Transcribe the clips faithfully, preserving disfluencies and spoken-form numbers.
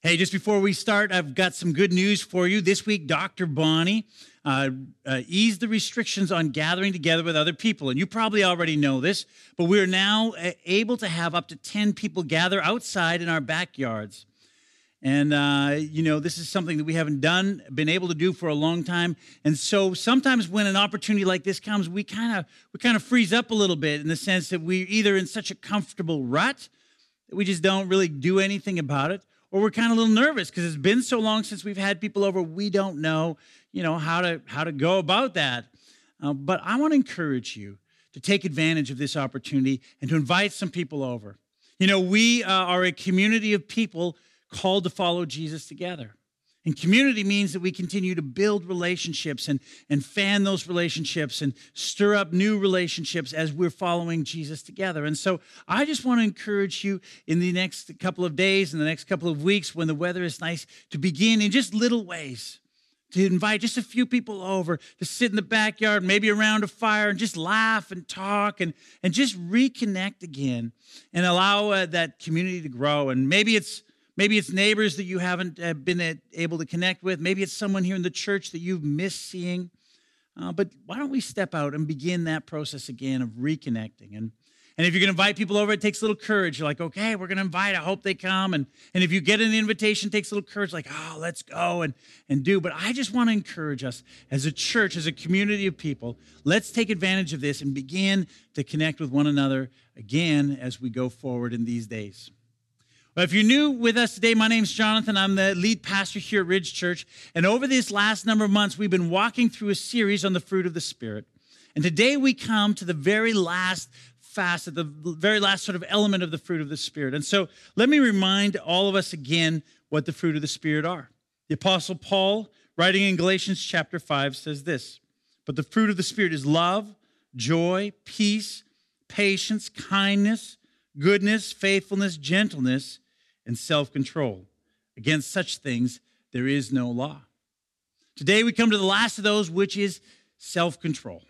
Hey, just before we start, I've got some good news for you. This week, Doctor Bonnie uh, uh, eased the restrictions on gathering together with other people. And you probably already know this, but we're now able to have up to ten people gather outside in our backyards. And, uh, you know, this is something that we haven't done, been able to do for a long time. And so sometimes when an opportunity like this comes, we kind of we kind of freeze up a little bit in the sense that we're either in such a comfortable rut that we just don't really do anything about it, or we're kind of a little nervous because it's been so long since we've had people over, we don't know, you know, how to how to go about that. Uh, but I want to encourage you to take advantage of this opportunity and to invite some people over. You know, we uh, are a community of people called to follow Jesus together. And community means that we continue to build relationships and, and fan those relationships and stir up new relationships as we're following Jesus together. And so I just want to encourage you in the next couple of days, in the next couple of weeks, when the weather is nice, to begin in just little ways, to invite just a few people over, to sit in the backyard, maybe around a fire, and just laugh and talk and, and just reconnect again and allow uh, that community to grow. And maybe it's Maybe it's neighbors that you haven't uh, been able to connect with. Maybe it's someone here in the church that you've missed seeing. Uh, but why don't we step out and begin that process again of reconnecting? And, and if you're going to invite people over, it takes a little courage. You're like, okay, we're going to invite. I hope they come. And, and if you get an invitation, it takes a little courage, like, oh, let's go and, and do. But I just want to encourage us as a church, as a community of people, let's take advantage of this and begin to connect with one another again as we go forward in these days. Well, if you're new with us today, my name's Jonathan. I'm the lead pastor here at Ridge Church. And over this last number of months, we've been walking through a series on the fruit of the Spirit. And today we come to the very last facet, the very last sort of element of the fruit of the Spirit. And so let me remind all of us again what the fruit of the Spirit are. The Apostle Paul, writing in Galatians chapter five, says this: "But the fruit of the Spirit is love, joy, peace, patience, kindness, goodness, faithfulness, gentleness, and self-control. Against such things there is no law." Today we come to the last of those, which is self-control.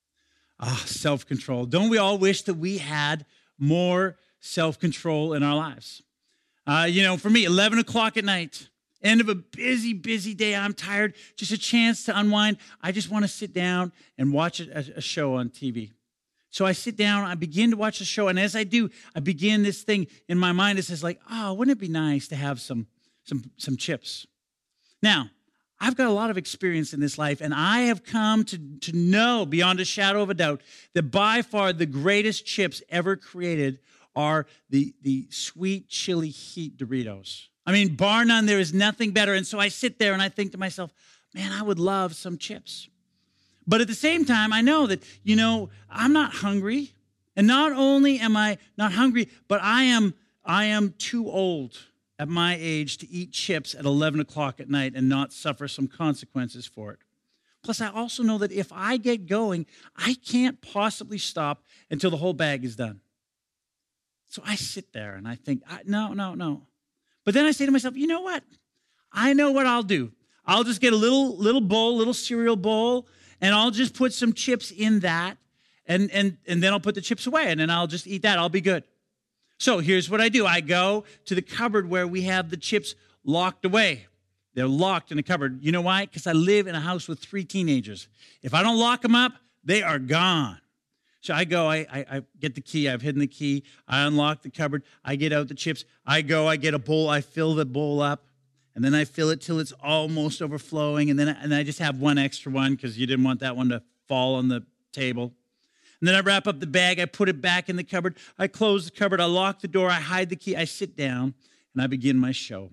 Ah, self-control. Don't we all wish that we had more self-control in our lives? Uh, you know, for me, eleven o'clock at night, end of a busy, busy day, I'm tired, just a chance to unwind. I just want to sit down and watch a, a show on T V. So I sit down, I begin to watch the show, and as I do, I begin this thing in my mind. It says like, oh, wouldn't it be nice to have some, some, some chips? Now, I've got a lot of experience in this life, and I have come to, to know beyond a shadow of a doubt that by far the greatest chips ever created are the, the sweet chili heat Doritos. I mean, bar none, there is nothing better. And so I sit there and I think to myself, man, I would love some chips. But at the same time, I know that, you know, I'm not hungry. And not only am I not hungry, but I am I am too old at my age to eat chips at eleven o'clock at night and not suffer some consequences for it. Plus, I also know that if I get going, I can't possibly stop until the whole bag is done. So I sit there and I think, no, no, no. But then I say to myself, you know what? I know what I'll do. I'll just get a little little bowl, little cereal bowl, and I'll just put some chips in that, and, and, and then I'll put the chips away, and then I'll just eat that. I'll be good. So here's what I do. I go to the cupboard where we have the chips locked away. They're locked in the cupboard. You know why? Because I live in a house with three teenagers. If I don't lock them up, they are gone. So I go, I, I, I get the key. I've hidden the key. I unlock the cupboard. I get out the chips. I go, I get a bowl. I fill the bowl up. And then I fill it till it's almost overflowing. And then I, and I just have one extra one because you didn't want that one to fall on the table. And then I wrap up the bag. I put it back in the cupboard. I close the cupboard. I lock the door. I hide the key. I sit down and I begin my show.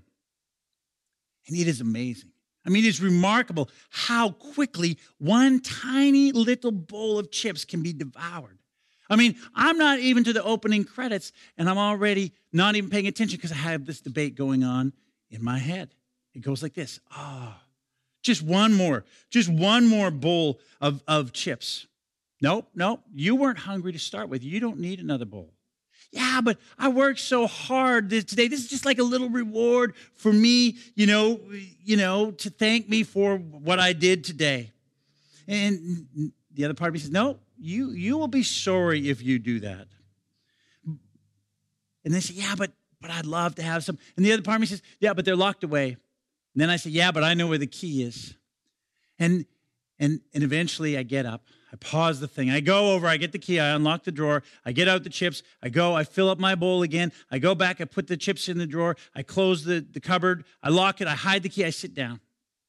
And it is amazing. I mean, it's remarkable how quickly one tiny little bowl of chips can be devoured. I mean, I'm not even to the opening credits, and I'm already not even paying attention because I have this debate going on in my head. It goes like this. Ah, oh, just one more, just one more bowl of, of chips. Nope, nope, you weren't hungry to start with. You don't need another bowl. Yeah, but I worked so hard today. This is just like a little reward for me, you know, you know, to thank me for what I did today. And the other part of me says, no, you, you will be sorry if you do that. And they say, yeah, but but I'd love to have some. And the other part of me says, yeah, but they're locked away. And then I say, yeah, but I know where the key is. And and and eventually I get up. I pause the thing. I go over, I get the key, I unlock the drawer, I get out the chips, I go, I fill up my bowl again, I go back, I put the chips in the drawer, I close the, the cupboard, I lock it, I hide the key, I sit down.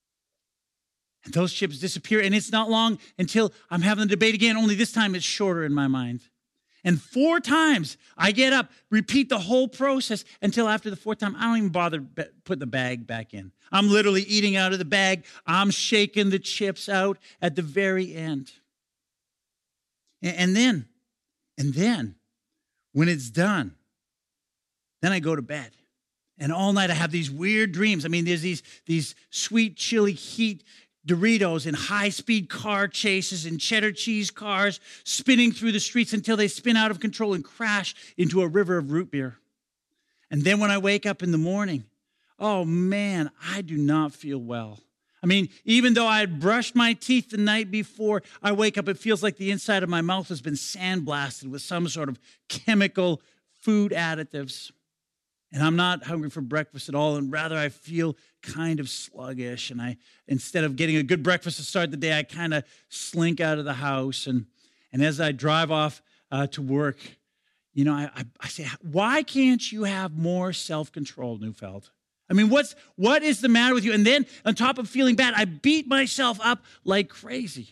And those chips disappear, and it's not long until I'm having the debate again, only this time it's shorter in my mind. And four times I get up, repeat the whole process until after the fourth time, I don't even bother putting the bag back in. I'm literally eating out of the bag. I'm shaking the chips out at the very end. And then, and then, when it's done, then I go to bed. And all night I have these weird dreams. I mean, there's these, these sweet chili heat Doritos in high-speed car chases and cheddar cheese cars spinning through the streets until they spin out of control and crash into a river of root beer. And then when I wake up in the morning, oh man, I do not feel well. I mean, even though I had brushed my teeth the night before I wake up, it feels like the inside of my mouth has been sandblasted with some sort of chemical food additives. And I'm not hungry for breakfast at all, and rather I feel kind of sluggish. And I, instead of getting a good breakfast to start the day, I kind of slink out of the house. And, and as I drive off uh, to work, you know, I, I, I say, why can't you have more self-control, Neufeld? I mean, what's what is the matter with you? And then on top of feeling bad, I beat myself up like crazy.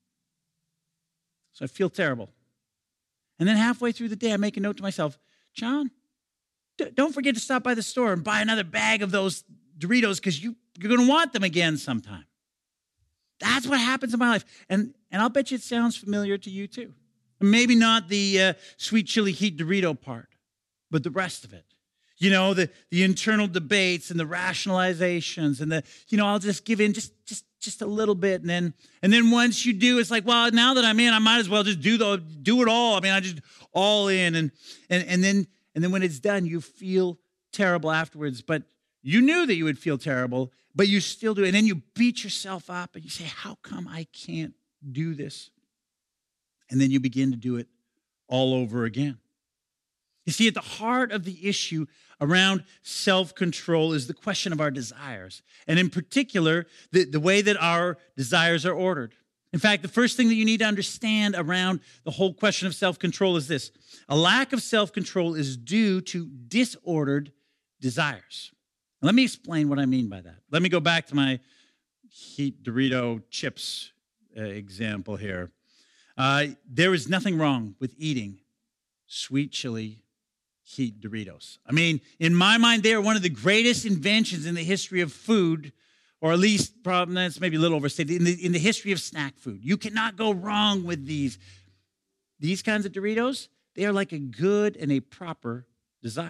So I feel terrible. And then halfway through the day, I make a note to myself, John, d- don't forget to stop by the store and buy another bag of those Doritos because you, you're going to want them again sometime. That's what happens in my life. And, and I'll bet you it sounds familiar to you too. Maybe not the uh, sweet chili heat Dorito part, but the rest of it. You know, the, the internal debates and the rationalizations and the, you know, I'll just give in just, just, just a little bit. And then, and then once you do, it's like, well, now that I'm in, I might as well just do the, do it all. I mean, I just all in. And, and, and then, and then when it's done, you feel terrible afterwards, but you knew that you would feel terrible, but you still do. And then you beat yourself up and you say, how come I can't do this? And then you begin to do it all over again. You see, at the heart of the issue around self-control is the question of our desires, and in particular, the, the way that our desires are ordered. In fact, the first thing that you need to understand around the whole question of self-control is this. A lack of self-control is due to disordered desires. Now, let me explain what I mean by that. Let me go back to my heat Dorito chips uh, example here. Uh, there is nothing wrong with eating sweet chili heat Doritos. I mean, in my mind, they are one of the greatest inventions in the history of food, or at least, probably, that's maybe a little overstated, in the, in the history of snack food. You cannot go wrong with these. These kinds of Doritos, they are like a good and a proper desire.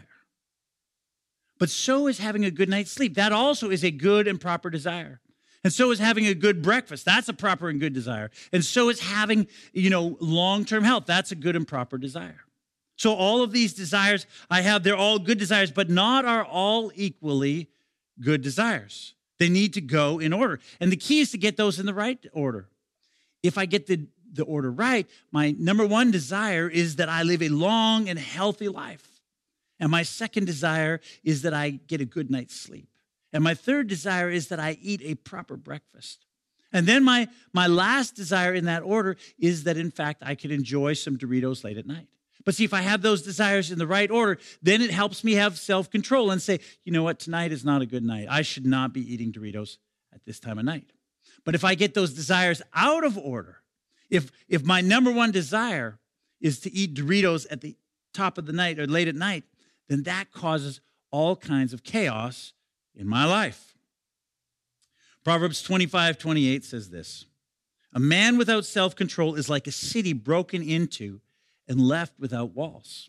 But so is having a good night's sleep. That also is a good and proper desire. And so is having a good breakfast. That's a proper and good desire. And so is having, you know, long-term health. That's a good and proper desire. So all of these desires I have, they're all good desires, but not are all equally good desires. They need to go in order. And the key is to get those in the right order. If I get the, the order right, my number one desire is that I live a long and healthy life. And my second desire is that I get a good night's sleep. And my third desire is that I eat a proper breakfast. And then my, my last desire in that order is that, in fact, I could enjoy some Doritos late at night. But see, if I have those desires in the right order, then it helps me have self-control and say, you know what, tonight is not a good night. I should not be eating Doritos at this time of night. But if I get those desires out of order, if, if my number one desire is to eat Doritos at the top of the night or late at night, then that causes all kinds of chaos in my life. Proverbs twenty-five twenty-eight says this, a man without self-control is like a city broken into and left without walls.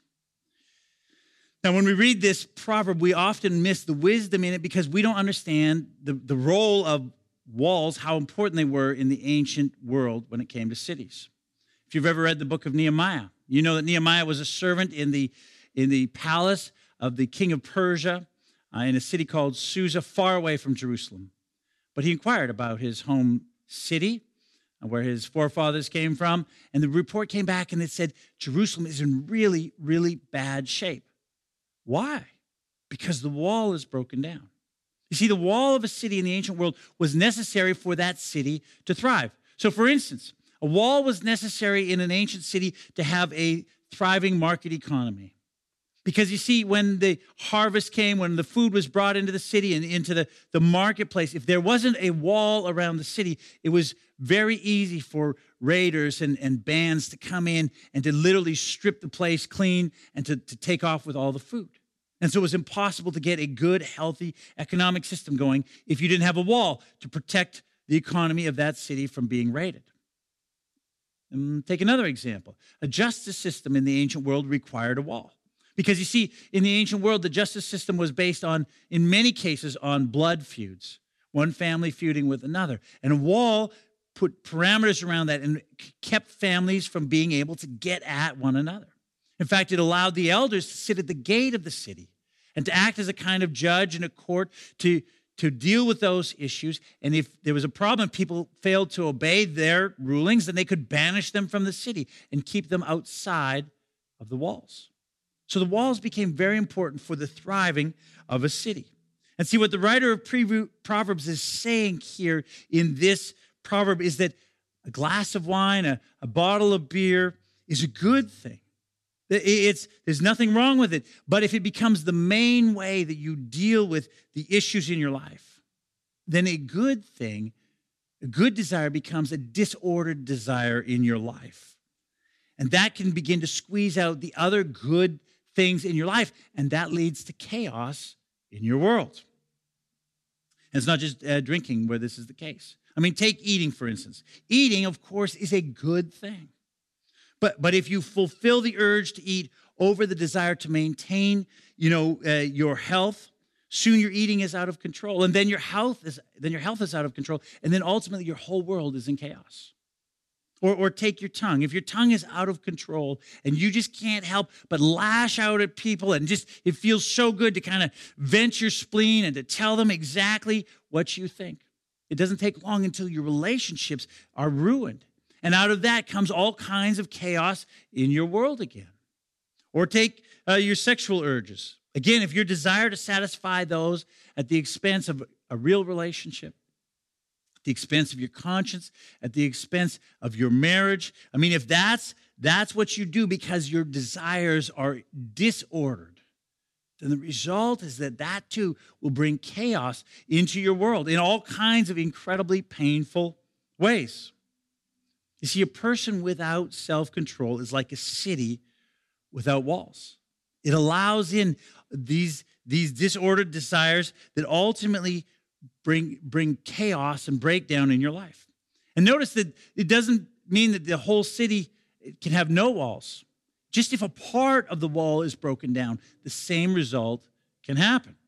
Now, when we read this proverb, we often miss the wisdom in it because we don't understand the, the role of walls, how important they were in the ancient world when it came to cities. If you've ever read the book of Nehemiah, you know that Nehemiah was a servant in the, in the palace of the king of Persia uh, in a city called Susa, far away from Jerusalem. But he inquired about his home city, where his forefathers came from, and the report came back and it said, Jerusalem is in really, really bad shape. Why? Because the wall is broken down. You see, the wall of a city in the ancient world was necessary for that city to thrive. So, for instance, a wall was necessary in an ancient city to have a thriving market economy. Because you see, when the harvest came, when the food was brought into the city and into the, the marketplace, if there wasn't a wall around the city, it was very easy for raiders and, and bands to come in and to literally strip the place clean and to, to take off with all the food. And so it was impossible to get a good, healthy economic system going if you didn't have a wall to protect the economy of that city from being raided. And take another example. A justice system in the ancient world required a wall. Because you see, in the ancient world, the justice system was based on, in many cases, on blood feuds, one family feuding with another. And a wall put parameters around that and kept families from being able to get at one another. In fact, it allowed the elders to sit at the gate of the city and to act as a kind of judge in a court to, to deal with those issues. And if there was a problem, people failed to obey their rulings, then they could banish them from the city and keep them outside of the walls. So the walls became very important for the thriving of a city. And see, what the writer of Proverbs is saying here in this proverb is that a glass of wine, a, a bottle of beer is a good thing. It's, there's nothing wrong with it. But if it becomes the main way that you deal with the issues in your life, then a good thing, a good desire becomes a disordered desire in your life. And that can begin to squeeze out the other good things in your life, and that leads to chaos in your world. And it's not just uh, drinking where this is the case. I mean, take eating, for instance. Eating, of course, is a good thing. But, but if you fulfill the urge to eat over the desire to maintain, you know, uh, your health, soon your eating is out of control, and then your health is then your health is out of control, and then ultimately your whole world is in chaos. Or, or take your tongue. If your tongue is out of control and you just can't help but lash out at people and just it feels so good to kind of vent your spleen and to tell them exactly what you think. It doesn't take long until your relationships are ruined. And out of that comes all kinds of chaos in your world again. Or take uh, your sexual urges. Again, if your desire to satisfy those at the expense of a real relationship, the expense of your conscience, at the expense of your marriage. I mean, if that's that's what you do because your desires are disordered, then the result is that that too will bring chaos into your world in all kinds of incredibly painful ways. You see, a person without self-control is like a city without walls. It allows in these, these disordered desires that ultimately Bring, bring chaos and breakdown in your life. And notice that it doesn't mean that the whole city can have no walls. Just if a part of the wall is broken down, the same result can happen.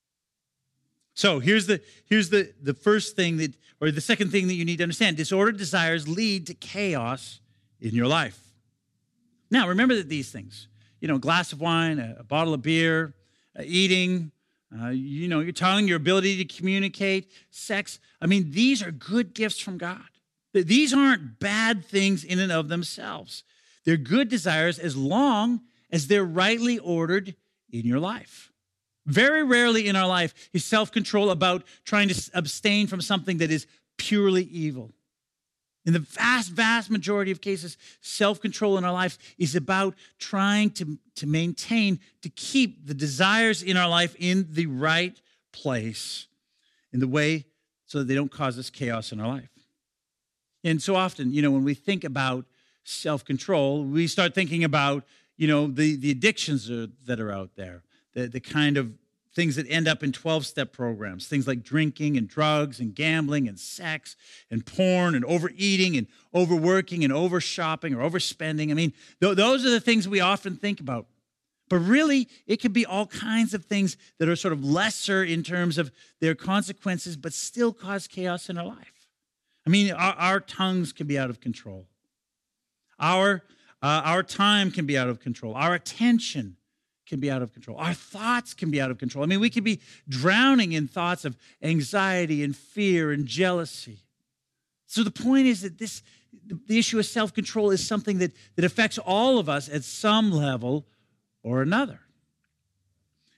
So here's the, here's the, the first thing that, or the second thing that you need to understand. Disordered desires lead to chaos in your life. Now, remember that these things, you know, a glass of wine, a, a bottle of beer, uh, eating, Uh, you know, your tongue, your ability to communicate, sex. I mean, these are good gifts from God. These aren't bad things in and of themselves. They're good desires as long as they're rightly ordered in your life. Very rarely in our life is self-control about trying to abstain from something that is purely evil. In the vast, vast majority of cases, self-control in our life is about trying to, to maintain, to keep the desires in our life in the right place, in the way so that they don't cause us chaos in our life. And so often, you know, when we think about self-control, we start thinking about, you know, the, the addictions are, that are out there, the, the kind of things that end up in twelve-step programs, things like drinking and drugs and gambling and sex and porn and overeating and overworking and overshopping or overspending. I mean, th- those are the things we often think about. But really, it could be all kinds of things that are sort of lesser in terms of their consequences, but still cause chaos in our life. I mean, our, our tongues can be out of control. Our, uh, our time can be out of control. Our attention can be out of control. Our thoughts can be out of control. I mean, we could be drowning in thoughts of anxiety and fear and jealousy. So the point is that this, the issue of self-control is something that, that affects all of us at some level or another.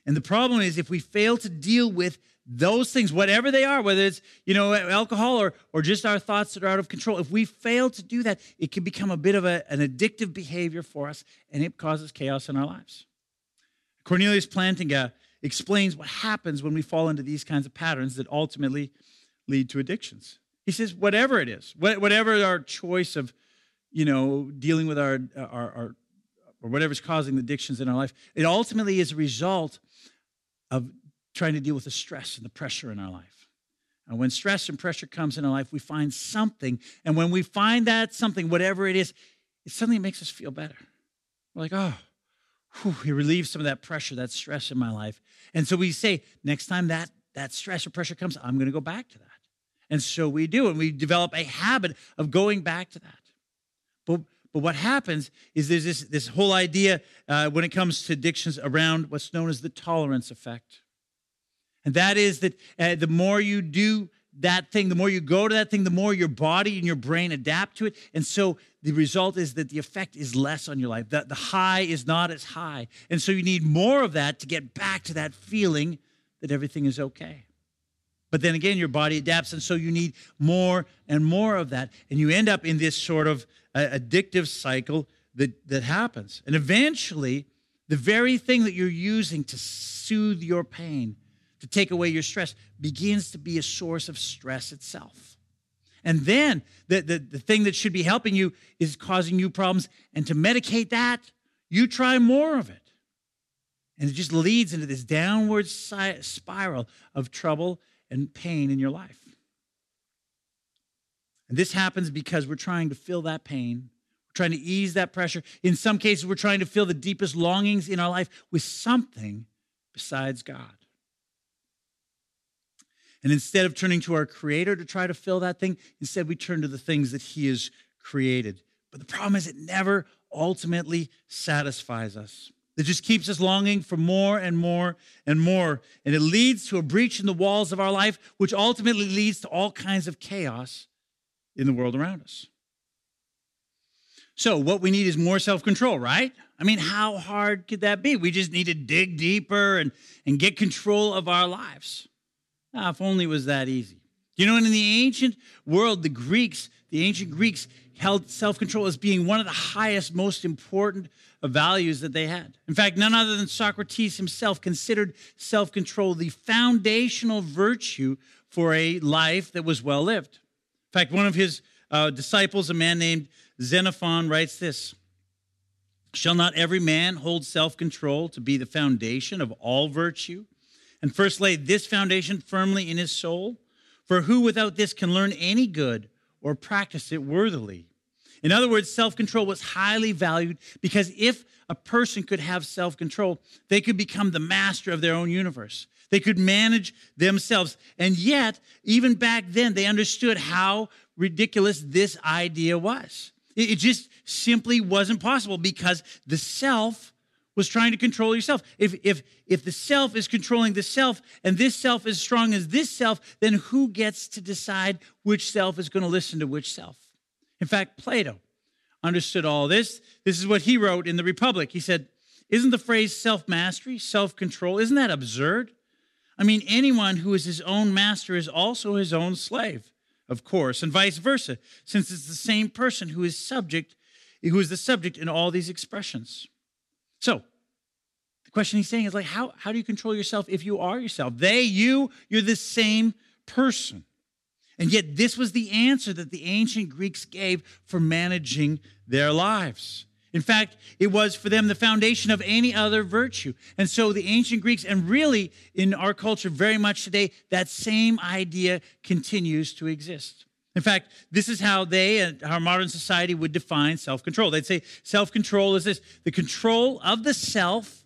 And the problem is if we fail to deal with those things, whatever they are, whether it's, you know, alcohol or, or just our thoughts that are out of control, if we fail to do that, it can become a bit of a, an addictive behavior for us, and it causes chaos in our lives. Cornelius Plantinga explains what happens when we fall into these kinds of patterns that ultimately lead to addictions. He says, whatever it is, whatever our choice of, you know, dealing with our, our, our or whatever's causing the addictions in our life, it ultimately is a result of trying to deal with the stress and the pressure in our life. And when stress and pressure comes in our life, we find something. And when we find that something, whatever it is, it suddenly makes us feel better. We're like, oh, whew, it relieves some of that pressure, that stress in my life. And so we say, next time that, that stress or pressure comes, I'm going to go back to that. And so we do. And we develop a habit of going back to that. But, but what happens is there's this, this whole idea uh, when it comes to addictions around what's known as the tolerance effect. And that is that uh, the more you do that thing, the more you go to that thing, the more your body and your brain adapt to it. And so the result is that the effect is less on your life. The, the high is not as high. And so you need more of that to get back to that feeling that everything is okay. But then again, your body adapts, and so you need more and more of that. And you end up in this sort of uh, addictive cycle that, that happens. And eventually, the very thing that you're using to soothe your pain, to take away your stress, begins to be a source of stress itself. And then the, the, the thing that should be helping you is causing you problems. And to medicate that, you try more of it. And it just leads into this downward si- spiral of trouble and pain in your life. And this happens because we're trying to fill that pain. We're trying to ease that pressure. In some cases, we're trying to fill the deepest longings in our life with something besides God. And instead of turning to our Creator to try to fill that thing, instead we turn to the things that He has created. But the problem is it never ultimately satisfies us. It just keeps us longing for more and more and more. And it leads to a breach in the walls of our life, which ultimately leads to all kinds of chaos in the world around us. So what we need is more self-control, right? I mean, how hard could that be? We just need to dig deeper and, and get control of our lives. Ah, if only it was that easy. You know, and in the ancient world, the Greeks, the ancient Greeks held self-control as being one of the highest, most important values that they had. In fact, none other than Socrates himself considered self-control the foundational virtue for a life that was well lived. In fact, one of his uh, disciples, a man named Xenophon, writes this: "Shall not every man hold self-control to be the foundation of all virtue, and first lay this foundation firmly in his soul? For who without this can learn any good or practice it worthily?" In other words, self-control was highly valued because if a person could have self-control, they could become the master of their own universe. They could manage themselves. And yet, even back then, they understood how ridiculous this idea was. It just simply wasn't possible because the self was trying to control yourself. If, if, if the self is controlling the self and this self is strong as this self, then who gets to decide which self is going to listen to which self? In fact, Plato understood all this. This is what he wrote in the Republic. He said, "Isn't the phrase self-mastery, self-control, isn't that absurd? I mean, anyone who is his own master is also his own slave, of course, and vice versa, since it's the same person who is subject, who is the subject in all these expressions." So, the question he's saying is like, how, how do you control yourself if you are yourself? They, you, you're the same person. And yet this was the answer that the ancient Greeks gave for managing their lives. In fact, it was for them the foundation of any other virtue. And so the ancient Greeks, and really in our culture very much today, that same idea continues to exist. In fact, this is how they and our modern society would define self-control. They'd say self-control is this: the control of the self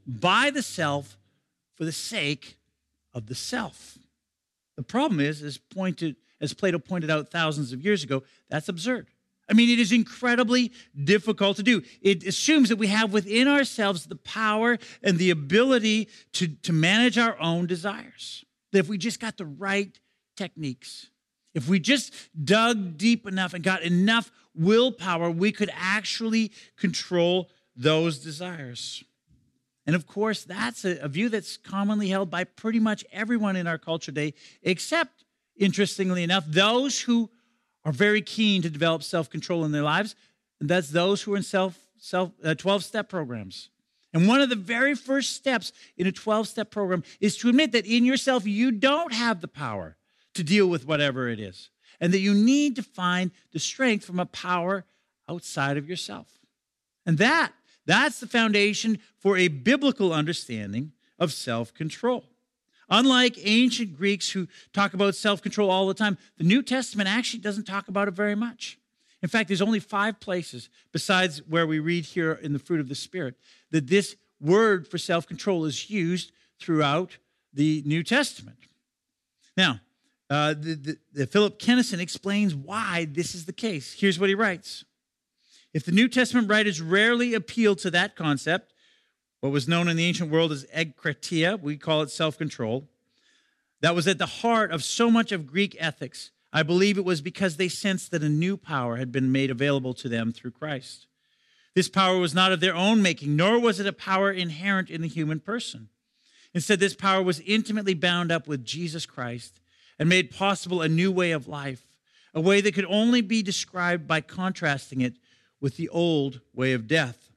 by the self for the sake of the self. The problem is, as pointed, as Plato pointed out thousands of years ago, that's absurd. I mean, it is incredibly difficult to do. It assumes that we have within ourselves the power and the ability to, to manage our own desires. That if we just got the right techniques, if we just dug deep enough and got enough willpower, we could actually control those desires. And of course, that's a, a view that's commonly held by pretty much everyone in our culture today, except, interestingly enough, those who are very keen to develop self-control in their lives. And that's those who are in self, self, uh, twelve-step programs. And one of the very first steps in a twelve-step program is to admit that in yourself, you don't have the power to deal with whatever it is, and that you need to find the strength from a power outside of yourself. And that, that's the foundation for a biblical understanding of self-control. Unlike ancient Greeks who talk about self-control all the time, the New Testament actually doesn't talk about it very much. In fact, there's only five places, besides where we read here in the fruit of the Spirit, that this word for self-control is used throughout the New Testament. Now, uh, the, the, the Philip Kennison explains why this is the case. Here's what he writes. If the New Testament writers rarely appeal to that concept, what was known in the ancient world as egkratia, we call it self-control, that was at the heart of so much of Greek ethics, I believe it was because they sensed that a new power had been made available to them through Christ. This power was not of their own making, nor was it a power inherent in the human person. Instead, this power was intimately bound up with Jesus Christ and made possible a new way of life, a way that could only be described by contrasting it with the old way of death.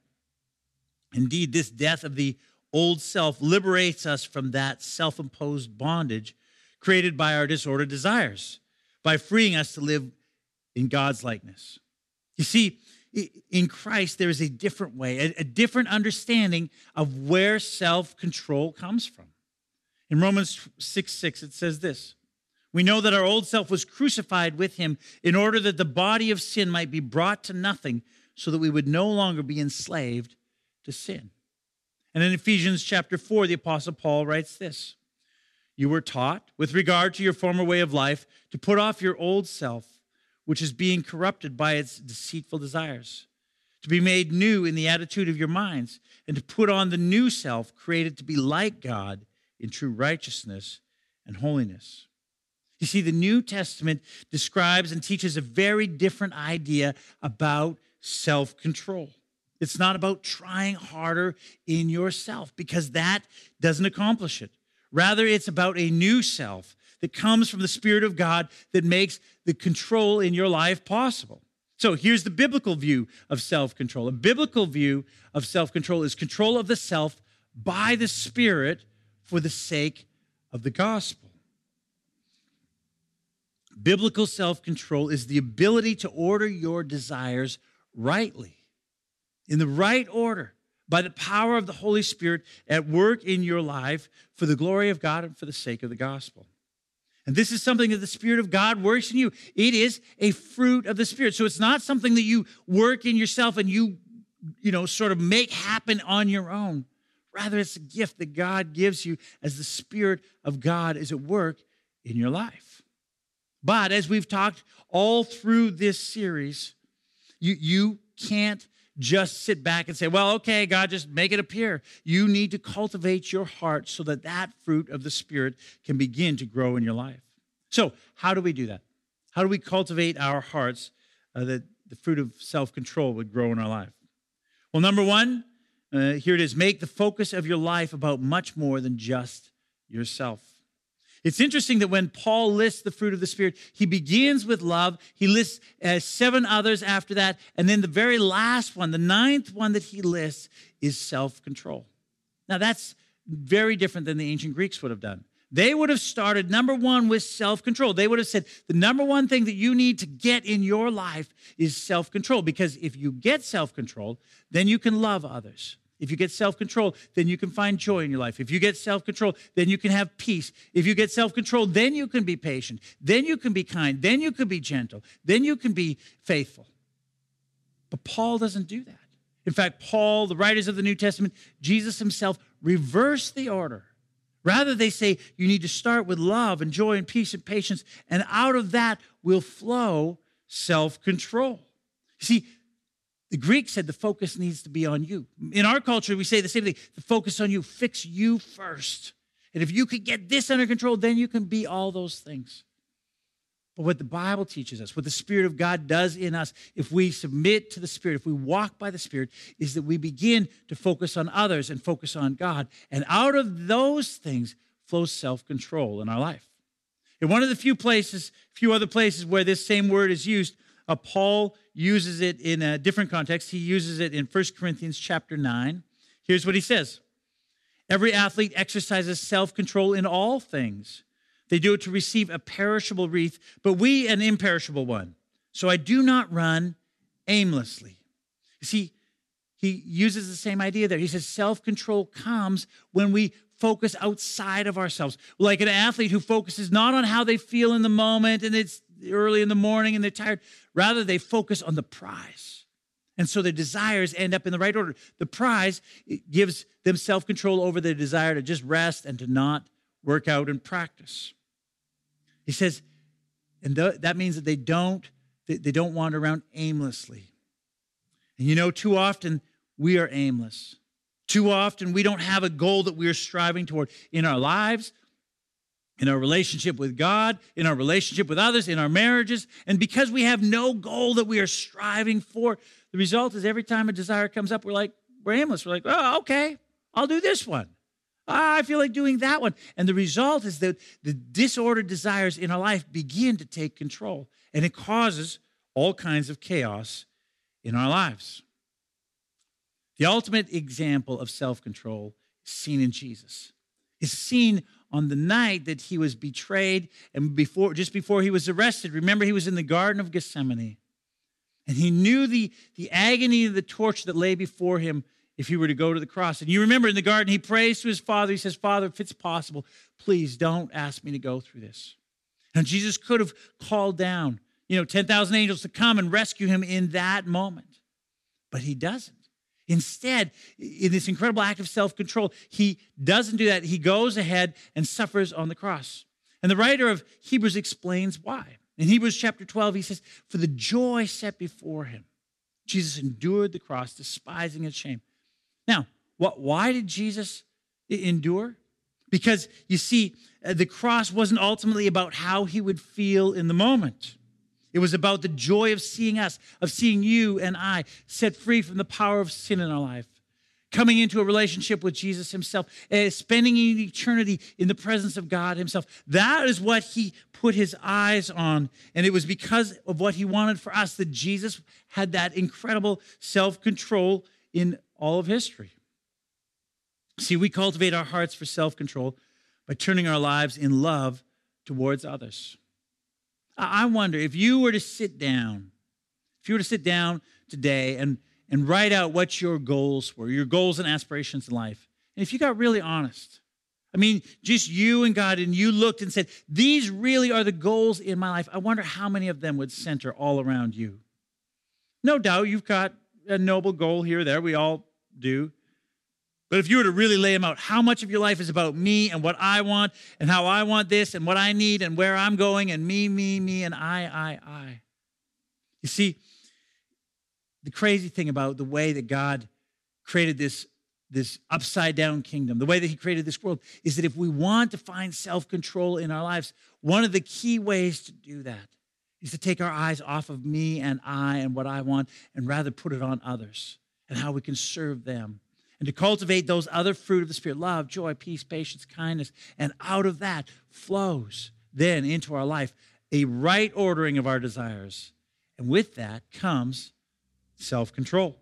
Indeed, this death of the old self liberates us from that self-imposed bondage created by our disordered desires, by freeing us to live in God's likeness. You see, in Christ, there is a different way, a, a different understanding of where self-control comes from. In Romans six six, it says this, we know that our old self was crucified with him in order that the body of sin might be brought to nothing so that we would no longer be enslaved to sin. And in Ephesians chapter four, the Apostle Paul writes this, you were taught, with regard to your former way of life, to put off your old self, which is being corrupted by its deceitful desires, to be made new in the attitude of your minds, and to put on the new self, created to be like God in true righteousness and holiness. You see, the New Testament describes and teaches a very different idea about self-control. It's not about trying harder in yourself, because that doesn't accomplish it. Rather, it's about a new self that comes from the Spirit of God that makes the control in your life possible. So here's the biblical view of self-control. A biblical view of self-control is control of the self by the Spirit for the sake of the gospel. Biblical self-control is the ability to order your desires rightly, in the right order, by the power of the Holy Spirit at work in your life for the glory of God and for the sake of the gospel. And this is something that the Spirit of God works in you. It is a fruit of the Spirit. So it's not something that you work in yourself and you, you know, sort of make happen on your own. Rather, it's a gift that God gives you as the Spirit of God is at work in your life. But as we've talked all through this series, you, you can't just sit back and say, well, okay, God, just make it appear. You need to cultivate your heart so that that fruit of the Spirit can begin to grow in your life. So how do we do that? How do we cultivate our hearts uh, that the fruit of self-control would grow in our life? Well, number one, uh, here it is, make the focus of your life about much more than just yourself. It's interesting that when Paul lists the fruit of the Spirit, he begins with love. He lists uh, seven others after that. And then the very last one, the ninth one that he lists, is self-control. Now, that's very different than the ancient Greeks would have done. They would have started, number one, with self-control. They would have said, the number one thing that you need to get in your life is self-control. Because if you get self-control, then you can love others. If you get self-control, then you can find joy in your life. If you get self-control, then you can have peace. If you get self-control, then you can be patient. Then you can be kind. Then you can be gentle. Then you can be faithful. But Paul doesn't do that. In fact, Paul, the writers of the New Testament, Jesus himself reversed the order. Rather, they say you need to start with love and joy and peace and patience, and out of that will flow self-control. See, the Greeks said the focus needs to be on you. In our culture, we say the same thing. The focus on you. Fix you first. And if you could get this under control, then you can be all those things. But what the Bible teaches us, what the Spirit of God does in us, if we submit to the Spirit, if we walk by the Spirit, is that we begin to focus on others and focus on God. And out of those things flows self-control in our life. In one of the few places, few other places where this same word is used, uh, Paul uses it in a different context. He uses it in First Corinthians chapter nine. Here's what he says. Every athlete exercises self-control in all things. They do it to receive a perishable wreath, but we an imperishable one. So I do not run aimlessly. You see, he uses the same idea there. He says self-control comes when we focus outside of ourselves. Like an athlete who focuses not on how they feel in the moment and it's early in the morning and they're tired. Rather, they focus on the prize. And so their desires end up in the right order. The prize gives them self-control over their desire to just rest and to not work out and practice. He says, and th- that means that they don't, they, they don't wander around aimlessly. And you know, too often we are aimless. Too often we don't have a goal that we are striving toward in our lives, in our relationship with God, in our relationship with others, in our marriages. And because we have no goal that we are striving for, the result is every time a desire comes up, we're like, we're aimless. We're like, oh, okay, I'll do this one. I feel like doing that one. And the result is that the disordered desires in our life begin to take control. And it causes all kinds of chaos in our lives. The ultimate example of self-control is seen in Jesus. It's seen on the night that he was betrayed and before, just before he was arrested. Remember, he was in the Garden of Gethsemane. And he knew the, the agony of the torture that lay before him if he were to go to the cross. And you remember in the garden, he prays to his Father. He says, Father, if it's possible, please don't ask me to go through this. And Jesus could have called down, you know, ten thousand angels to come and rescue him in that moment. But he doesn't. Instead, in this incredible act of self-control, he doesn't do that. He goes ahead and suffers on the cross. And the writer of Hebrews explains why. In Hebrews chapter twelve, he says, for the joy set before him, Jesus endured the cross, despising its shame. Now, what, why did Jesus endure? Because, you see, the cross wasn't ultimately about how he would feel in the moment. It was about the joy of seeing us, of seeing you and I set free from the power of sin in our life, coming into a relationship with Jesus himself, uh, spending an eternity in the presence of God himself. That is what he put his eyes on. And it was because of what he wanted for us that Jesus had that incredible self-control in all of history. See, we cultivate our hearts for self-control by turning our lives in love towards others. I wonder if you were to sit down, if you were to sit down today and, and write out what your goals were, your goals and aspirations in life, and if you got really honest, I mean, just you and God, and you looked and said, these really are the goals in my life, I wonder how many of them would center all around you. No doubt you've got a noble goal here or there. We all do. But if you were to really lay them out, how much of your life is about me and what I want and how I want this and what I need and where I'm going and me, me, me, and I, I, I. You see, the crazy thing about the way that God created this, this upside-down kingdom, the way that he created this world, is that if we want to find self-control in our lives, one of the key ways to do that is to take our eyes off of me and I and what I want and rather put it on others and how we can serve them. And to cultivate those other fruit of the Spirit, love, joy, peace, patience, kindness. And out of that flows then into our life a right ordering of our desires. And with that comes self-control.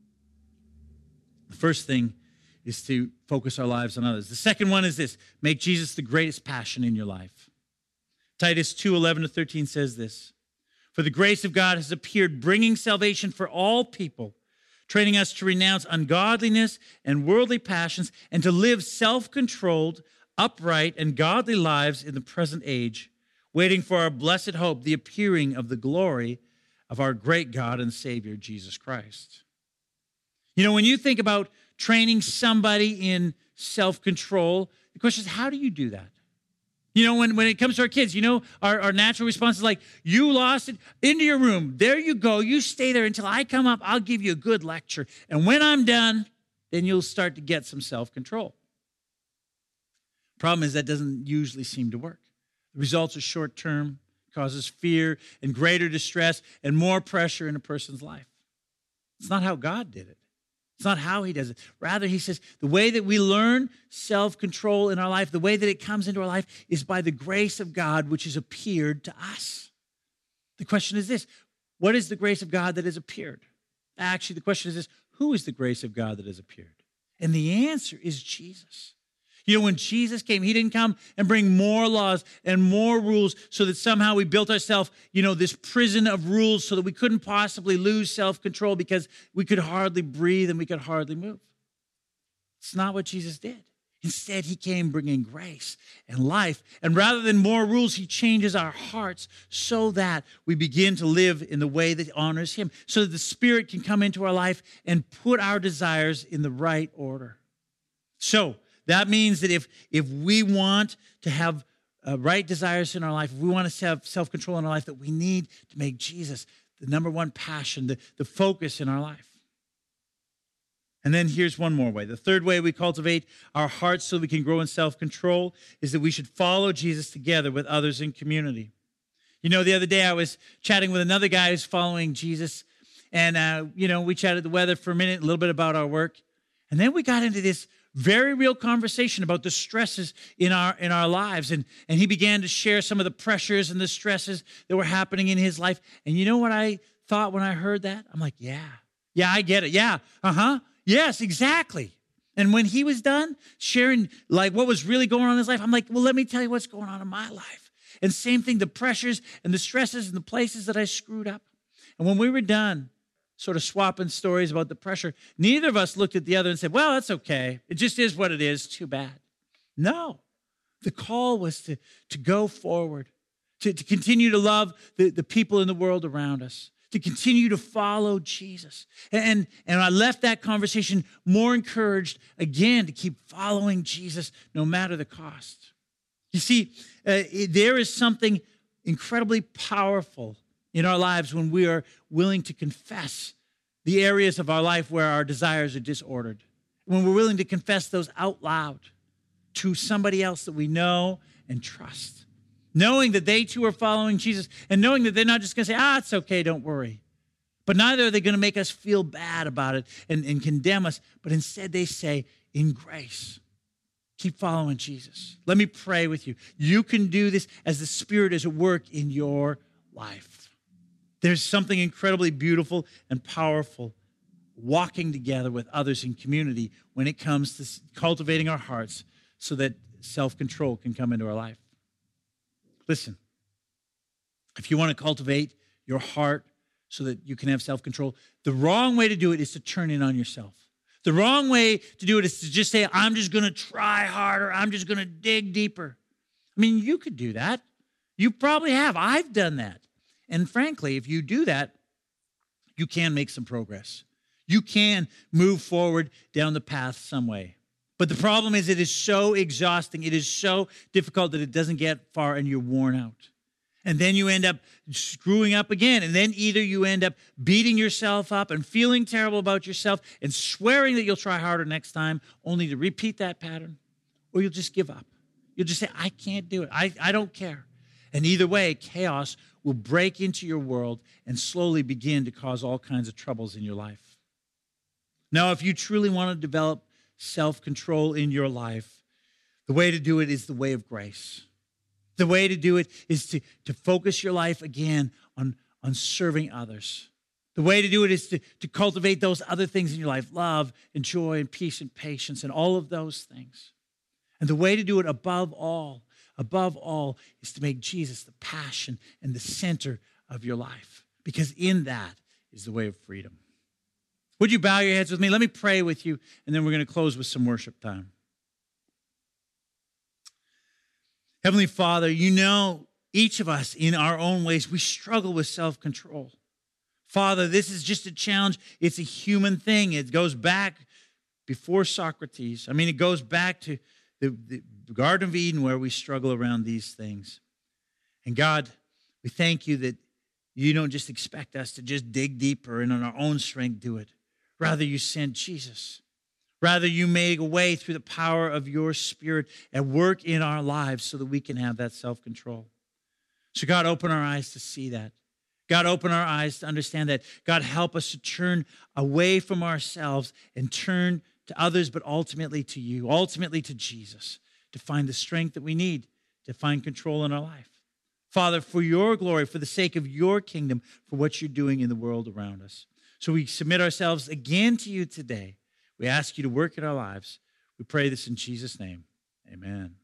The first thing is to focus our lives on others. The second one is this: make Jesus the greatest passion in your life. Titus two, eleven to thirteen says this: for the grace of God has appeared, bringing salvation for all people, training us to renounce ungodliness and worldly passions and to live self-controlled, upright, and godly lives in the present age, waiting for our blessed hope, the appearing of the glory of our great God and Savior, Jesus Christ. You know, when you think about training somebody in self-control, the question is, how do you do that? You know, when, when it comes to our kids, you know, our, our natural response is like, you lost it, into your room. There you go. You stay there until I come up. I'll give you a good lecture. And when I'm done, then you'll start to get some self-control. Problem is that doesn't usually seem to work. The results are short-term, causes fear and greater distress and more pressure in a person's life. It's not how God did it. It's not how he does it. Rather, he says the way that we learn self-control in our life, the way that it comes into our life is by the grace of God, which has appeared to us. The question is this: what is the grace of God that has appeared? Actually, the question is this: who is the grace of God that has appeared? And the answer is Jesus. You know, when Jesus came, he didn't come and bring more laws and more rules so that somehow we built ourselves, you know, this prison of rules so that we couldn't possibly lose self-control because we could hardly breathe and we could hardly move. It's not what Jesus did. Instead, he came bringing grace and life. And rather than more rules, he changes our hearts so that we begin to live in the way that honors him, so that the Spirit can come into our life and put our desires in the right order. So, that means that if, if we want to have uh, right desires in our life, if we want to have self-control in our life, that we need to make Jesus the number one passion, the, the focus in our life. And then here's one more way. The third way we cultivate our hearts so we can grow in self-control is that we should follow Jesus together with others in community. You know, the other day I was chatting with another guy who's following Jesus, and, uh, you know, we chatted the weather for a minute, a little bit about our work, and then we got into this very real conversation about the stresses in our in our lives. And, and he began to share some of the pressures and the stresses that were happening in his life. And you know what I thought when I heard that? I'm like, yeah, yeah, I get it. Yeah, uh-huh. Yes, exactly. And when he was done sharing like what was really going on in his life, I'm like, well, let me tell you what's going on in my life. And same thing, the pressures and the stresses and the places that I screwed up. And when we were done, sort of swapping stories about the pressure, neither of us looked at the other and said, well, that's okay. It just is what it is. Too bad. No. The call was to, to go forward, to, to continue to love the, the people in the world around us, to continue to follow Jesus. And, and I left that conversation more encouraged, again, to keep following Jesus no matter the cost. You see, uh, there is something incredibly powerful in our lives when we are willing to confess the areas of our life where our desires are disordered. When we're willing to confess those out loud to somebody else that we know and trust. Knowing that they too are following Jesus and knowing that they're not just going to say, ah, it's okay, don't worry. But neither are they going to make us feel bad about it and, and condemn us. But instead they say, in grace, keep following Jesus. Let me pray with you. You can do this as the Spirit is at work in your life. There's something incredibly beautiful and powerful walking together with others in community when it comes to cultivating our hearts so that self-control can come into our life. Listen, if you want to cultivate your heart so that you can have self-control, the wrong way to do it is to turn in on yourself. The wrong way to do it is to just say, I'm just going to try harder. I'm just going to dig deeper. I mean, you could do that. You probably have. I've done that. And frankly, if you do that, you can make some progress. You can move forward down the path some way. But the problem is it is so exhausting. It is so difficult that it doesn't get far and you're worn out. And then you end up screwing up again. And then either you end up beating yourself up and feeling terrible about yourself and swearing that you'll try harder next time, only to repeat that pattern, or you'll just give up. You'll just say, I can't do it. I, I don't care. And either way, chaos will break into your world and slowly begin to cause all kinds of troubles in your life. Now, if you truly want to develop self-control in your life, the way to do it is the way of grace. The way to do it is to, to focus your life again on, on serving others. The way to do it is to, to cultivate those other things in your life, love and joy and peace and patience and all of those things. And the way to do it above all Above all, is to make Jesus the passion and the center of your life, because in that is the way of freedom. Would you bow your heads with me? Let me pray with you, and then we're going to close with some worship time. Heavenly Father, you know each of us in our own ways, we struggle with self-control. Father, this is just a challenge. It's a human thing. It goes back before Socrates. I mean, it goes back to the, the Garden of Eden where we struggle around these things. And God, we thank you that you don't just expect us to just dig deeper and on our own strength do it. Rather, you sent Jesus. Rather, you made a way through the power of your Spirit at work in our lives so that we can have that self-control. So God, open our eyes to see that. God, open our eyes to understand that. God, help us to turn away from ourselves and turn to others, but ultimately to you, ultimately to Jesus, to find the strength that we need to find control in our life. Father, for your glory, for the sake of your kingdom, for what you're doing in the world around us. So we submit ourselves again to you today. We ask you to work in our lives. We pray this in Jesus' name. Amen.